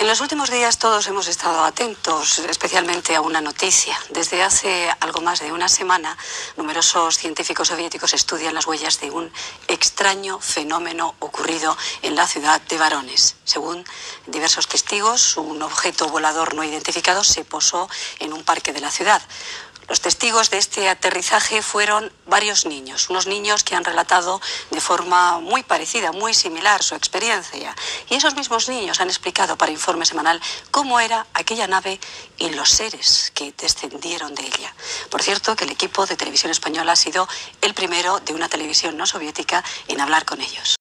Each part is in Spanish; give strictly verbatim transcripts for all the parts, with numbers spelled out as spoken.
En los últimos días todos hemos estado atentos, especialmente a una noticia. Desde hace algo más de una semana, numerosos científicos soviéticos estudian las huellas de un extraño fenómeno ocurrido en la ciudad de Varones. Según diversos testigos, un objeto volador no identificado se posó en un parque de la ciudad. Los testigos de este aterrizaje fueron varios niños, unos niños que han relatado de forma muy parecida, muy similar su experiencia. Y esos mismos niños han explicado para Informe Semanal cómo era aquella nave y los seres que descendieron de ella. Por cierto, que el equipo de Televisión Española ha sido el primero de una televisión no soviética en hablar con ellos.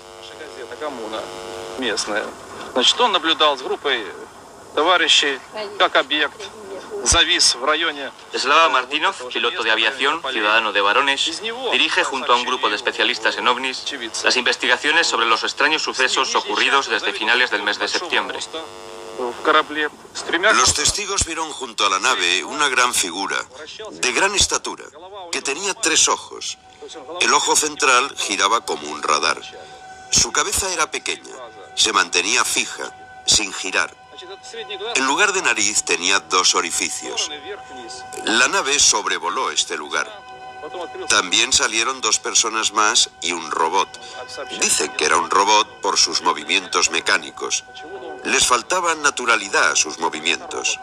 Slava Martinov, piloto de aviación, ciudadano de Varones, dirige junto a un grupo de especialistas en ovnis las investigaciones sobre los extraños sucesos ocurridos desde finales del mes de septiembre. Los testigos vieron junto a la nave una gran figura, de gran estatura, que tenía tres ojos. El ojo central giraba como un radar. Su cabeza era pequeña, se mantenía fija, sin girar. En lugar de nariz tenía dos orificios. La nave sobrevoló este lugar. También salieron dos personas más y un robot. Dicen que era un robot por sus movimientos mecánicos. Les faltaba naturalidad a sus movimientos.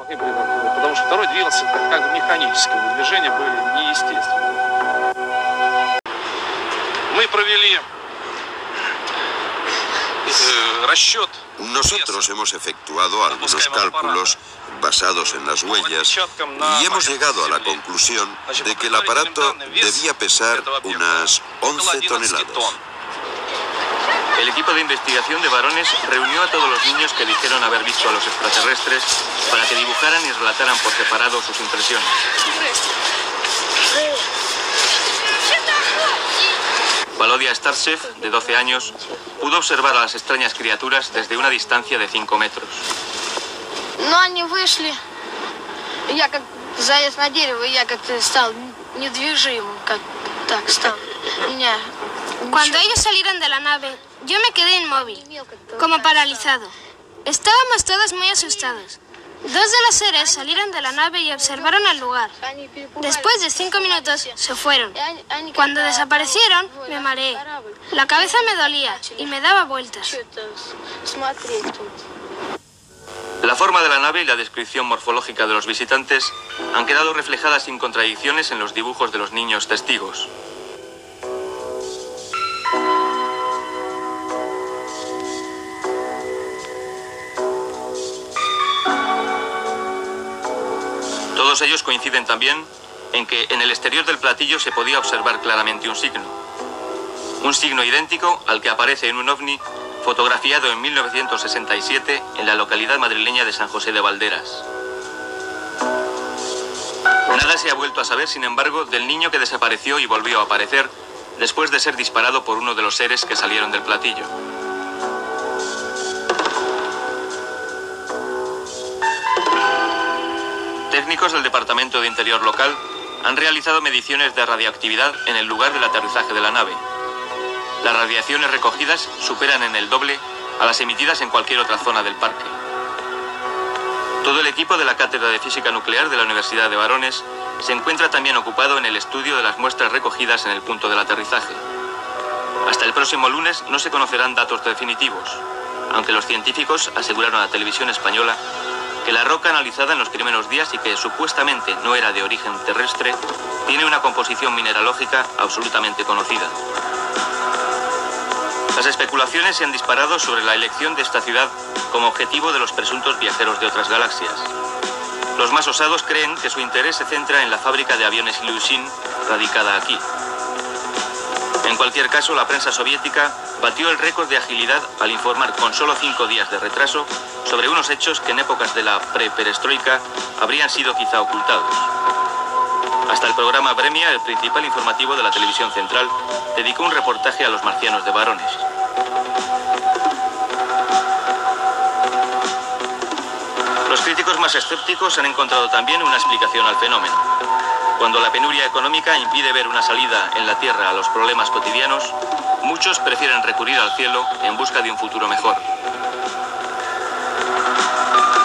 Nosotros hemos efectuado algunos cálculos basados en las huellas y hemos llegado a la conclusión de que el aparato debía pesar unas once toneladas. El equipo de investigación de Varones reunió a todos los niños que dijeron haber visto a los extraterrestres para que dibujaran y relataran por separado sus impresiones. Valodia Startsev, de doce años, pudo observar a las extrañas criaturas desde una distancia de cinco metros. Но они вышли. Я как заяц на дерево, я как-то стал недвижимым, как так стал. Меня... Cuando ellos salieron de la nave, yo me quedé inmóvil, como paralizado. Estábamos todos muy asustados. Dos de los seres salieron de la nave y observaron el lugar. Después de cinco minutos se fueron. Cuando desaparecieron, me mareé. La cabeza me dolía y me daba vueltas. La forma de la nave y la descripción morfológica de los visitantes han quedado reflejadas sin contradicciones en los dibujos de los niños testigos. Todos ellos coinciden también en que en el exterior del platillo se podía observar claramente un signo. Un signo idéntico al que aparece en un ovni fotografiado en mil novecientos sesenta y siete en la localidad madrileña de San José de Valderas. Nada se ha vuelto a saber, sin embargo, del niño que desapareció y volvió a aparecer después de ser disparado por uno de los seres que salieron del platillo. Técnicos del Departamento de Interior local han realizado mediciones de radioactividad en el lugar del aterrizaje de la nave. Las radiaciones recogidas superan en el doble a las emitidas en cualquier otra zona del parque. Todo el equipo de la Cátedra de Física Nuclear de la Universidad de Varones se encuentra también ocupado en el estudio de las muestras recogidas en el punto del aterrizaje. Hasta el próximo lunes no se conocerán datos definitivos, aunque los científicos aseguraron a Televisión Española que la roca analizada en los primeros días y que supuestamente no era de origen terrestre, tiene una composición mineralógica absolutamente conocida. Las especulaciones se han disparado sobre la elección de esta ciudad como objetivo de los presuntos viajeros de otras galaxias. Los más osados creen que su interés se centra en la fábrica de aviones Ilyushin, radicada aquí. En cualquier caso, la prensa soviética batió el récord de agilidad al informar con solo cinco días de retraso sobre unos hechos que en épocas de la pre-perestroika habrían sido quizá ocultados. Hasta el programa Vremya, el principal informativo de la televisión central, dedicó un reportaje a los marcianos de Varones. Los críticos más escépticos han encontrado también una explicación al fenómeno. Cuando la penuria económica impide ver una salida en la Tierra a los problemas cotidianos, muchos prefieren recurrir al cielo en busca de un futuro mejor.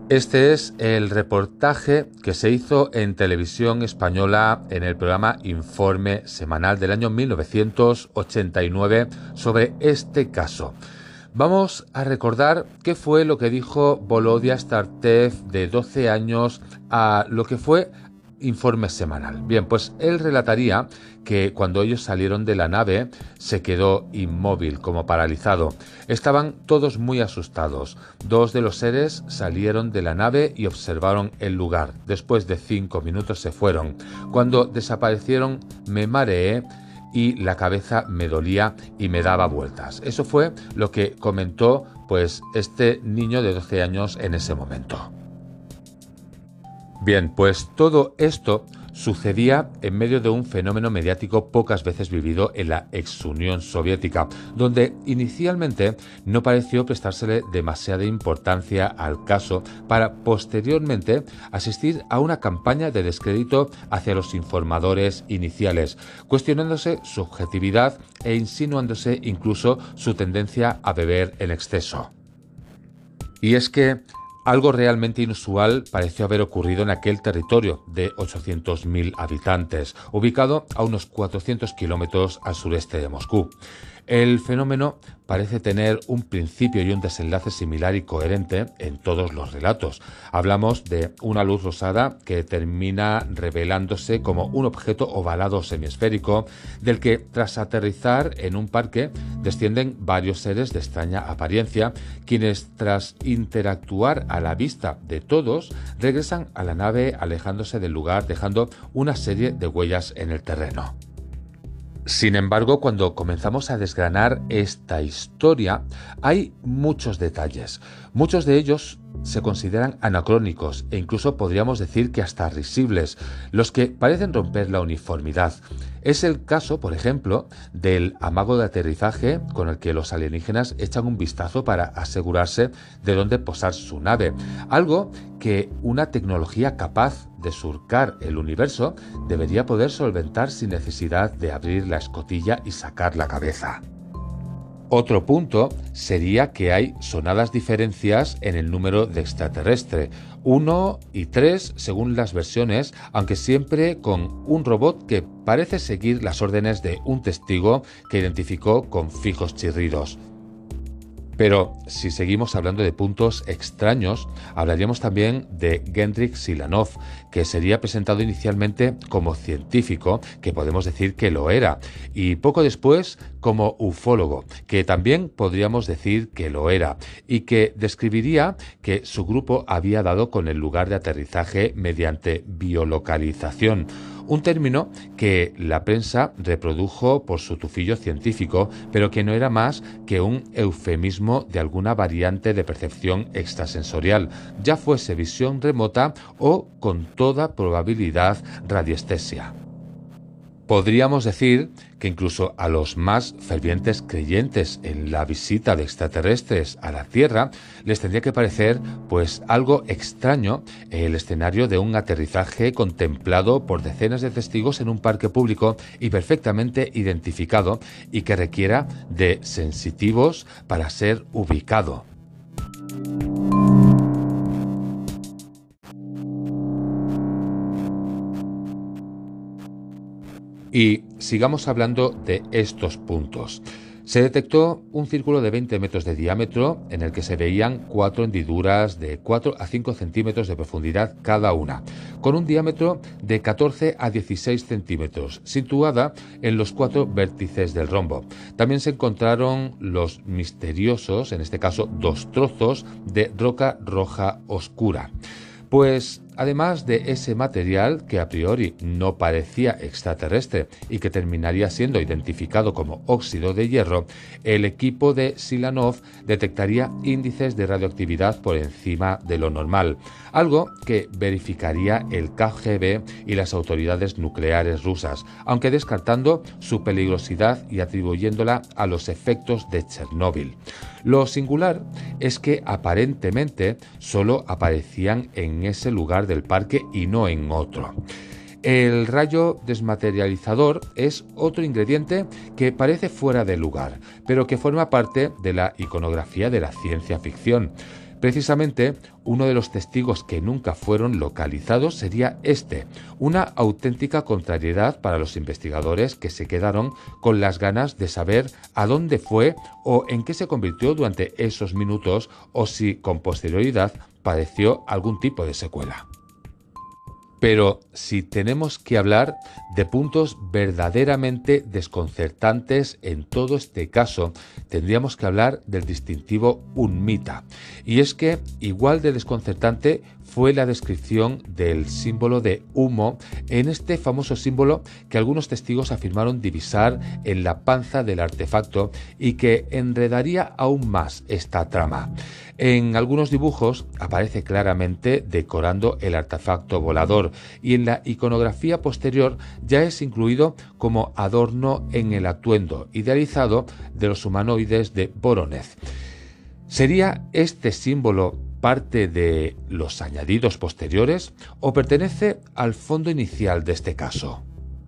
Este es el reportaje que se hizo en televisión española en el programa Informe Semanal del año mil novecientos ochenta y nueve sobre este caso. Vamos a recordar qué fue lo que dijo Volodya Startsev, de doce años, a lo que fue Informe Semanal. Bien, pues él relataría que cuando ellos salieron de la nave se quedó inmóvil, como paralizado. Estaban todos muy asustados. Dos de los seres salieron de la nave y observaron el lugar. Después de cinco minutos se fueron. Cuando desaparecieron me mareé y la cabeza me dolía y me daba vueltas. Eso fue lo que comentó pues este niño de doce años en ese momento. Bien, pues todo esto sucedía en medio de un fenómeno mediático pocas veces vivido en la ex Unión Soviética, donde inicialmente no pareció prestársele demasiada importancia al caso para posteriormente asistir a una campaña de descrédito hacia los informadores iniciales, cuestionándose su objetividad e insinuándose incluso su tendencia a beber en exceso. Y es que algo realmente inusual pareció haber ocurrido en aquel territorio de ochocientos mil habitantes, ubicado a unos cuatrocientos kilómetros al sureste de Moscú. El fenómeno parece tener un principio y un desenlace similar y coherente en todos los relatos. Hablamos de una luz rosada que termina revelándose como un objeto ovalado semiesférico, del que tras aterrizar en un parque descienden varios seres de extraña apariencia, quienes tras interactuar a la vista de todos regresan a la nave alejándose del lugar, dejando una serie de huellas en el terreno. Sin embargo, cuando comenzamos a desgranar esta historia, hay muchos detalles. Muchos de ellos se consideran anacrónicos e incluso podríamos decir que hasta risibles, los que parecen romper la uniformidad. Es el caso, por ejemplo, del amago de aterrizaje con el que los alienígenas echan un vistazo para asegurarse de dónde posar su nave, algo que una tecnología capaz de surcar el universo debería poder solventar sin necesidad de abrir la escotilla y sacar la cabeza. Otro punto sería que hay sonadas diferencias en el número de extraterrestre, uno y tres según las versiones, aunque siempre con un robot que parece seguir las órdenes de un testigo que identificó con fijos chirridos. Pero si seguimos hablando de puntos extraños, hablaríamos también de Gendrik Silanov, que sería presentado inicialmente como científico, que podemos decir que lo era, y poco después como ufólogo, que también podríamos decir que lo era, y que describiría que su grupo había dado con el lugar de aterrizaje mediante biolocalización, un término que la prensa reprodujo por su tufillo científico, pero que no era más que un eufemismo de alguna variante de percepción extrasensorial, ya fuese visión remota o, con toda probabilidad, radiestesia. Podríamos decir que incluso a los más fervientes creyentes en la visita de extraterrestres a la Tierra les tendría que parecer pues algo extraño el escenario de un aterrizaje contemplado por decenas de testigos en un parque público y perfectamente identificado y que requiera de sensitivos para ser ubicado. Y sigamos hablando de estos puntos. Se detectó un círculo de veinte metros de diámetro en el que se veían cuatro hendiduras de cuatro a cinco centímetros de profundidad cada una, con un diámetro de catorce a dieciséis centímetros, situada en los cuatro vértices del rombo. También se encontraron los misteriosos, en este caso dos trozos, de roca roja oscura. Pues además de ese material que a priori no parecía extraterrestre y que terminaría siendo identificado como óxido de hierro, el equipo de Silanov detectaría índices de radioactividad por encima de lo normal, algo que verificaría el K G B y las autoridades nucleares rusas, aunque descartando su peligrosidad y atribuyéndola a los efectos de Chernóbil. Lo singular es que aparentemente solo aparecían en ese lugar del parque y no en otro. El rayo desmaterializador es otro ingrediente que parece fuera de lugar, pero que forma parte de la iconografía de la ciencia ficción. Precisamente, uno de los testigos que nunca fueron localizados sería este, una auténtica contrariedad para los investigadores que se quedaron con las ganas de saber a dónde fue o en qué se convirtió durante esos minutos o si con posterioridad padeció algún tipo de secuela. Pero si tenemos que hablar de puntos verdaderamente desconcertantes en todo este caso, tendríamos que hablar del distintivo unmita. Y es que igual de desconcertante fue la descripción del símbolo de humo en este famoso símbolo que algunos testigos afirmaron divisar en la panza del artefacto y que enredaría aún más esta trama. En algunos dibujos aparece claramente decorando el artefacto volador y en la iconografía posterior ya es incluido como adorno en el atuendo idealizado de los humanoides de Voronezh. ¿Sería este símbolo parte de los añadidos posteriores o pertenece al fondo inicial de este caso?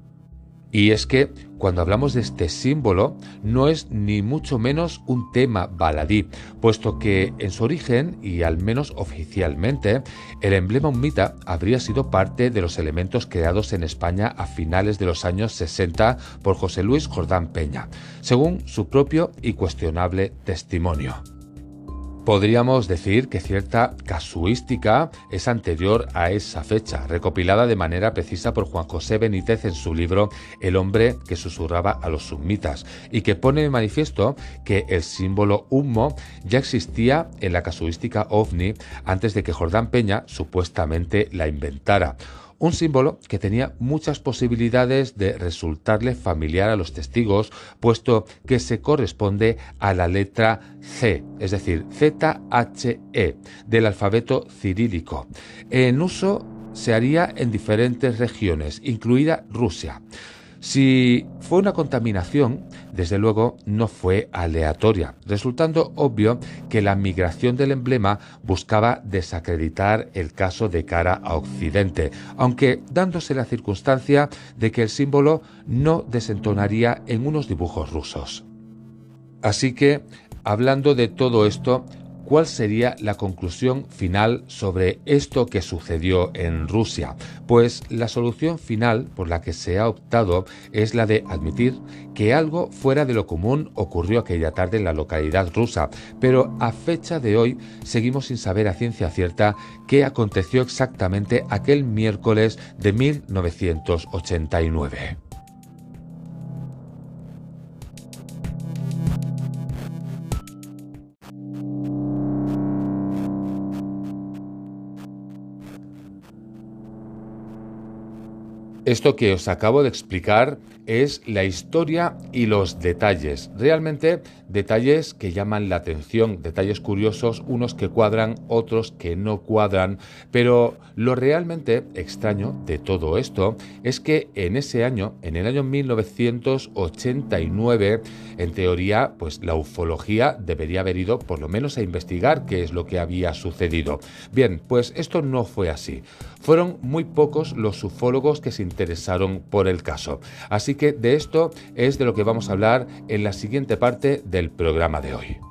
Y es que cuando hablamos de este símbolo no es ni mucho menos un tema baladí, puesto que en su origen, y al menos oficialmente, el emblema unmita habría sido parte de los elementos creados en España a finales de los años sesenta por José Luis Jordán Peña, según su propio y cuestionable testimonio. Podríamos decir que cierta casuística es anterior a esa fecha, recopilada de manera precisa por Juan José Benítez en su libro El hombre que susurraba a los summitas, y que pone de manifiesto que el símbolo humo ya existía en la casuística ovni antes de que Jordán Peña supuestamente la inventara. Un símbolo que tenía muchas posibilidades de resultarle familiar a los testigos, puesto que se corresponde a la letra C, es decir, Z H E, del alfabeto cirílico. En uso se haría en diferentes regiones, incluida Rusia. Si fue una contaminación, desde luego no fue aleatoria, resultando obvio que la migración del emblema buscaba desacreditar el caso de cara a Occidente, aunque dándose la circunstancia de que el símbolo no desentonaría en unos dibujos rusos. Así que, hablando de todo esto, ¿cuál sería la conclusión final sobre esto que sucedió en Rusia? Pues la solución final por la que se ha optado es la de admitir que algo fuera de lo común ocurrió aquella tarde en la localidad rusa, pero a fecha de hoy seguimos sin saber a ciencia cierta qué aconteció exactamente aquel miércoles de mil novecientos ochenta y nueve. Esto que os acabo de explicar es la historia y los detalles, realmente detalles que llaman la atención, detalles curiosos, unos que cuadran, otros que no cuadran, pero lo realmente extraño de todo esto es que en ese año, en el año mil novecientos ochenta y nueve, en teoría, pues la ufología debería haber ido por lo menos a investigar qué es lo que había sucedido. Bien, pues esto no fue así. Fueron muy pocos los ufólogos que se interesaron por el caso. Así que de esto es de lo que vamos a hablar en la siguiente parte del programa de hoy.